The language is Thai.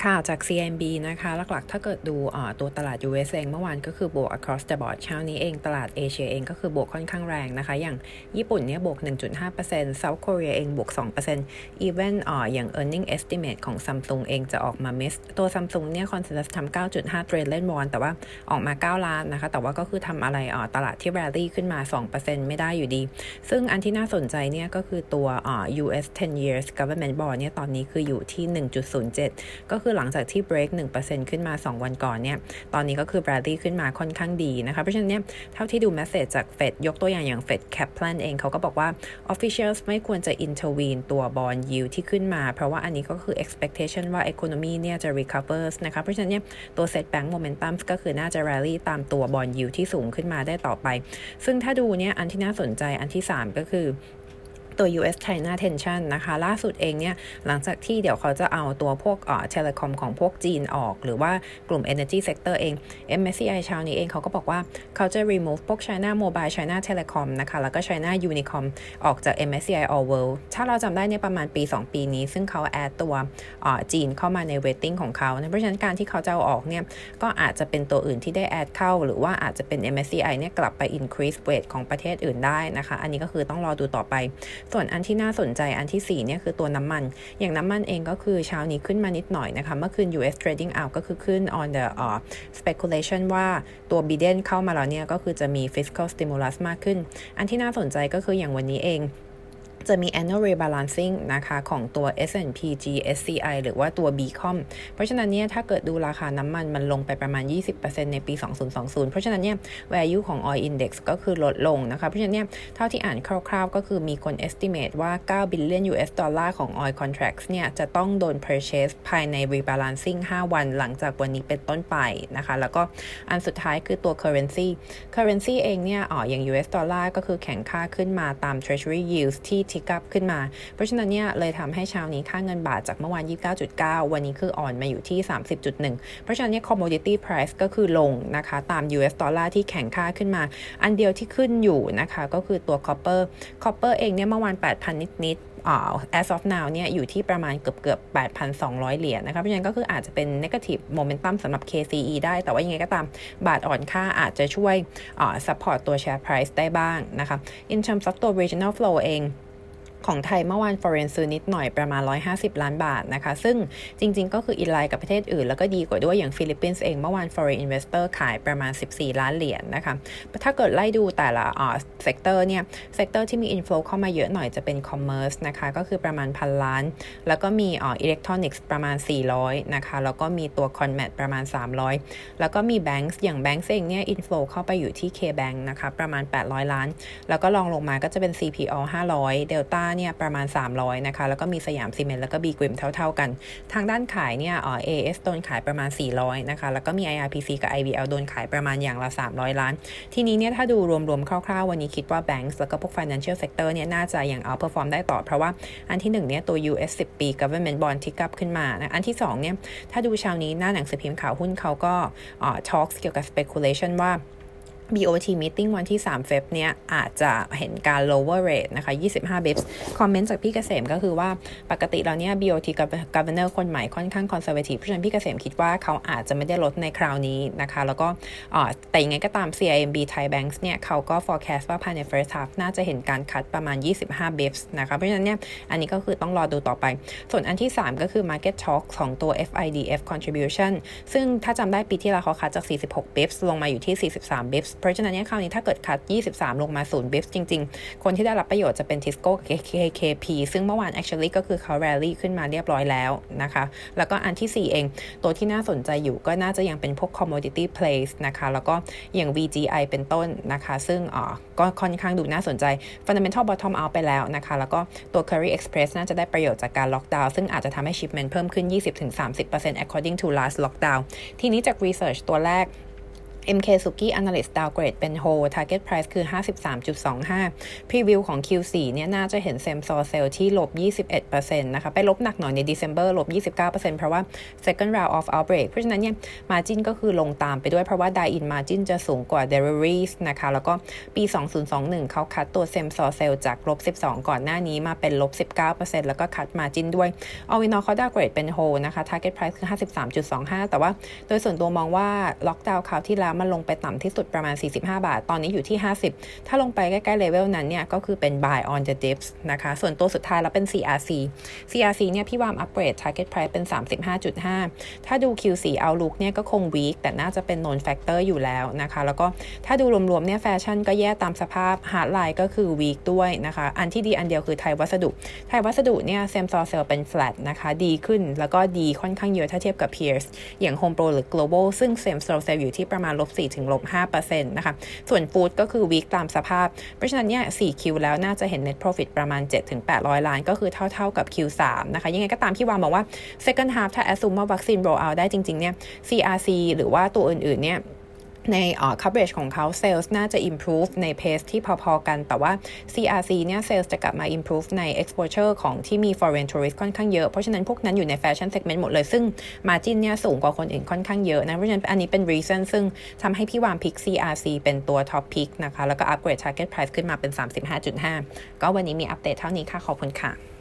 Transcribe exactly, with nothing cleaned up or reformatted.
ค่ะจาก ซี เอ็ม บี นะคะหลักๆถ้าเกิดดูตัวตลาด ยู เอส เองเมื่อวานก็คือบวก across the board เช้านี้เองตลาดเอเชียเองก็คือบวกค่อนข้างแรงนะคะอย่างญี่ปุ่นเนี่ยบวก หนึ่งจุดห้าเปอร์เซ็นต์ South Korea เองบวก สองเปอร์เซ็นต์ even อ่ออย่าง earning estimate ของ Samsung เองจะออกมา miss ตัว Samsung เนี่ย consensus ทำ เก้าจุดห้า trillion won แต่ว่าออกมาเก้าล้านนะคะแต่ว่าก็คือทำอะไรอ่อตลาดที่ rally ขึ้นมา สองเปอร์เซ็นต์ ไม่ได้อยู่ดีซึ่งอันที่น่าสนใจเนี่ยก็คือตัวอ่อ ยู เอส ten years government bond เนี่ยตอนนี้คืออยู่ที่ หนึ่งจุดศูนย์เจ็ด ก็คือหลังจากที่ break หนึ่งเปอร์เซ็นต์ ขึ้นมาสองวันก่อนเนี่ยตอนนี้ก็คือ rally ขึ้นมาค่อนข้างดีนะคะเพราะฉะนั้นเนี่ยเท่าที่ดู message จาก Fed ยกตัวอย่างอย่าง Fed Kaplan เองเขาก็บอกว่า officials ไม่ควรจะ intervene ตัว bond yield ที่ขึ้นมาเพราะว่าอันนี้ก็คือ expectation ว่า economy เนี่ยจะ recover นะคะเพราะฉะนั้นเนี่ยตัว set bank momentum ก็คือน่าจะ rally ตามตัว bond yield ที่สูงขึ้นมาได้ต่อไปซึ่งถ้าดูเนี่ยอันที่น่าสนใจอันที่สามก็คือตัว ยู เอส China Tension นะคะล่าสุดเองเนี่ยหลังจากที่เดี๋ยวเขาจะเอาตัวพวกเอ่อ Telecom ของพวกจีนออกหรือว่ากลุ่ม Energy Sector เอง เอ็ม เอส ซี ไอ เช้านี้เองเขาก็บอกว่าเขาจะ remove พวก China Mobile China Telecom นะคะแล้วก็ China Unicom ออกจาก เอ็ม เอส ซี ไอ All World ถ้าเราจำได้ในประมาณปีสองปีนี้ซึ่งเขา add ตัวเอ่อจีนเข้ามาใน weighting ของเขาเพราะฉะนั้นการที่เขาจะเอาออกเนี่ยก็อาจจะเป็นตัวอื่นที่ได้ add เข้าหรือว่าอาจจะเป็น เอ็ม เอส ซี ไอ เนี่ยกลับไป increase weight ของประเทศอื่นได้นะคะอันนี้ก็คือต้องรอดูต่อไปส่วนอันที่น่าสนใจอันที่สี่เนี่ยคือตัวน้ำมันอย่างน้ำมันเองก็คือเช้านี้ขึ้นมานิดหน่อยนะคะเมื่อคืน ยู เอส trading out ก็คือขึ้น on the uh, speculation ว่าตัว Biden เข้ามาแล้วเนี่ยก็คือจะมี fiscal stimulus มากขึ้นอันที่น่าสนใจก็คืออย่างวันนี้เองจะมี annual rebalancing นะคะของตัว เอส แอนด์ พี จี เอส ซี ไอ หรือว่าตัว บี คอม เพราะฉะนั้นเนี่ยถ้าเกิดดูราคาน้ำมันมันลงไปประมาณ ยี่สิบเปอร์เซ็นต์ ในปี สองพันยี่สิบ เพราะฉะนั้นเนี่ย value ของ oil index ก็คือลดลงนะคะเพราะฉะนั้นเนี่ยเท่าที่อ่านคร่าวๆก็คือมีคน estimate ว่า เก้า billion ยู เอส ดอลลาร์ของ oil contracts เนี่ยจะต้องโดน purchase ภายใน rebalancing ห้าวันหลังจากวันนี้เป็นต้นไปนะคะแล้วก็อันสุดท้ายคือตัว currency currency เองเนี่ยอ๋ออย่าง ยู เอส ดอลลาร์ก็คือแข็งค่าขึ้นมาตาม treasury yields ที่ทิกอัพขึ้นมาเพราะฉะนั้นเนี่ยเลยทำให้เช้านี้ค่าเงินบาทจากเมื่อวาน ยี่สิบเก้าจุดเก้า วันนี้คืออ่อนมาอยู่ที่ สามสิบจุดหนึ่ง เพราะฉะนั้นเนี่ย commodity price ก็คือลงนะคะตาม ยู เอส ดอลลาร์ที่แข็งค่าขึ้นมาอันเดียวที่ขึ้นอยู่นะคะก็คือตัว copper copper เองเนี่ยเมื่อวาน แปดพัน นิดๆอ่า as of now เนี่ยอยู่ที่ประมาณเกือบๆ แปดพันสองร้อย เหรียญนะคะเพราะฉะนั้นก็คืออาจจะเป็น negative momentum สำหรับ เค ซี อี ได้แต่ว่ายังไงก็ตามบาทอ่อนค่าอาจจะช่วยอ่า support ตัว share price ได้บ้างนะคะ in terms of ตัว regional flow เองของไทยเมื่อวาน foreign ซื้อนิดหน่อยประมาณหนึ่งร้อยห้าสิบล้านบาทนะคะซึ่งจริงๆก็คืออินไลน์กับประเทศอื่นแล้วก็ดีกว่าด้วยอย่างฟิลิปปินส์เองเมื่อวาน foreign investor ขายประมาณสิบสี่ล้านเหรียญ น, นะคะถ้าเกิดไล่ดูแต่ละอ่า sector เนี่ย sector ที่มี inflow เข้ามาเยอะหน่อยจะเป็น commerce นะคะก็คือประมาณพันล้านแล้วก็มีอ่า electronics ประมาณสี่ร้อยนะคะแล้วก็มีตัว conmat ประมาณสามร้อยแล้วก็มี banks อย่าง banks เองเนี่ย inflow เข้าไปอยู่ที่ K-Bank นะคะประมาณแปดร้อยล้านแล้วก็ลองลงมาก็จะเป็น ซี พี โอ ห้าร้อย Deltaเนี่ยประมาณสามร้อยนะคะแล้วก็มีสยามซีเมนต์แล้วก็ B Grim เท่าๆกันทางด้านขายเนี่ยเอ่อ เอ เอส โดนขายประมาณสี่ร้อยนะคะแล้วก็มี ไอ อาร์ พี ซี กับ ไอ วี แอล โดนขายประมาณอย่างละสามร้อยล้านทีนี้เนี่ยถ้าดูรวมๆคร่าวๆวันนี้คิดว่า Banks แล้วก็พวก Financial Sector เนี่ยน่าจะยัง outperform ได้ต่อเพราะว่าอันที่หนึ่งเนี่ยตัว ยู เอส สิบ ปี Government Bond ทิกอัพขึ้นมานะอันที่สองเนี่ยถ้าดูเช้านี้หน้าหนังสือพิมพ์ข่าวหุ้นเขาก็เอ่อ talks เกี่ยวกับ speculation ว่าบี โอ ที meeting วันที่สามเฟบเนี่ยอาจจะเห็นการ lower rate นะคะยี่สิบห้า bips คอมเมนต์จากพี่เกษมก็คือว่าปกติแล้วเนี่ย บี โอ ที governor คนใหม่ค่อนข้าง conservative เพราะฉะนั้นพี่เกษมคิดว่าเขาอาจจะไม่ได้ลดในคราวนี้นะคะแล้วก็แต่ยังไงก็ตาม ซี ไอ เอ็ม บี Thai Banks เนี่ยเขาก็ forecast ว่าภายใน first half น่าจะเห็นการคัดประมาณยี่สิบห้า bips นะคะเพราะฉะนั้นเนี่ยอันนี้ก็คือต้องรอดูต่อไปส่วนอันที่สามก็คือ market talk ของตัว เอฟ ไอ ดี เอฟ contribution ซึ่งถ้าจำได้ปีที่แล้วเขาคัดจากสี่สิบหก bips ลงมาอยู่ที่สี่สิบสาม bipsเพราะฉะนั้นเนี่ยคราวนี้ถ้าเกิดคัดยี่สิบสามลงมาศูนย์ bips จริงๆคนที่ได้รับประโยชน์จะเป็น Tisco กับ เค เค พี ซึ่งเมื่อวาน actually ก็คือเขา rally ขึ้นมาเรียบร้อยแล้วนะคะแล้วก็อันที่สี่เองตัวที่น่าสนใจอยู่ก็น่าจะยังเป็นพวก commodity plays นะคะแล้วก็อย่าง วี จี ไอ เป็นต้นนะคะซึ่งอ่อก็ค่อนข้างดูน่าสนใจ fundamental bottom out ไปแล้วนะคะแล้วก็ตัว Curry Express น่าจะได้ประโยชน์จากการ lockdown ซึ่งอาจจะทำให้ shipment เพิ่มขึ้น ยี่สิบถึงสามสิบเปอร์เซ็นต์ according to last lockdown ทีนี้จาก research ตัวแรกเอ็ม เค Suki Analyst Downgrade เป็น Hold Target Price คือ ห้าสิบสามจุดสองห้า Preview ของ คิว โฟร์ เนี่ยน่าจะเห็น Same Store Sale ที่ลบ ยี่สิบเอ็ดเปอร์เซ็นต์ นะคะไปลบหนักหน่อยใน December ลบ ยี่สิบเก้าเปอร์เซ็นต์ เพราะว่า Second Round of Outbreak เพราะฉะนั้นเนี่ย Margin ก็คือลงตามไปด้วยเพราะว่า Dine-in Margin จะสูงกว่า Deliveries นะคะแล้วก็ปี สองพันยี่สิบเอ็ด เขาคัดตัว Same Store Sale จากลบ สิบสอง ก่อนหน้านี้มาเป็นลบ สิบเก้าเปอร์เซ็นต์ แล้วก็คัด Margin ด้วย All in all เขา Downgrade เป็น Hold นะคะ Target Price คือ ห้าสิบสามจุดสองห้า แต่ว่าโดยส่วนตัวมองว่าล็อกดาวน์คราวที่แล้วมันลงไปต่ำที่สุดประมาณสี่สิบห้าบาทตอนนี้อยู่ที่ห้าสิบถ้าลงไปใกล้ๆเลเวลนั้นเนี่ยก็คือเป็น buy on the dips นะคะส่วนตัวสุดท้ายแล้วเป็น ซี อาร์ ซี ซี อาร์ ซี เนี่ยพี่วามอัปเกรด target price เป็น สามสิบห้าจุดห้า ถ้าดู คิว โฟร์ outlook เนี่ยก็คง weak แต่น่าจะเป็น known factor อยู่แล้วนะคะแล้วก็ถ้าดูรวมๆเนี่ยแฟชั่นก็แย่ตามสภาพ hardline ก็คือ weak ด้วยนะคะอันที่ดีอันเดียวคือไทยวัสดุไทยวัสดุเนี่ย same store sale เป็น flat นะคะดีขึ้นแล้วก็ดีค่อนข้างเยอะถ้าเทียบกับ peers อย่าง Home Pro หรือ Global ซึ่ง same store sale อยู่ที่ประมาณ ลบสี่ถึงลบห้าเปอร์เซ็นต์ นะคะส่วน Food ก็คือ weak ตามสภาพเพราะฉะนั้นเนี่ย โฟร์ คิว แล้วน่าจะเห็น net profit ประมาณ เจ็ดถึงแปดร้อย ล้านก็คือเท่าๆกับ คิว ทรี นะคะยังไงก็ตามพี่วามบอกว่า second half ถ้า assume ว่าวัคซีน roll out ได้จริงๆเนี่ย ซี อาร์ ซี หรือว่าตัวอื่นๆเนี่ยใน uh, coverage ของเขา sales น่าจะ improve ใน pace ที่พอๆกันแต่ว่า ซี อาร์ ซี เนี่ย sales จะกลับมา improve ใน exposure ของที่มี foreign tourist ค่อนข้างเยอะเพราะฉะนั้นพวกนั้นอยู่ใน fashion segment หมดเลยซึ่ง margin เนี่ยสูงกว่าคนอื่นค่อนข้างเยอะนะเพราะฉะนั้นอันนี้เป็น reason ซึ่งทำให้พี่วามพิก ซี อาร์ ซี เป็นตัว top pick นะคะแล้วก็ upgrade target price ขึ้นมาเป็น สามสิบห้าจุดห้า ก็วันนี้มีอัปเดตเท่านี้ค่ะขอบคุณค่ะ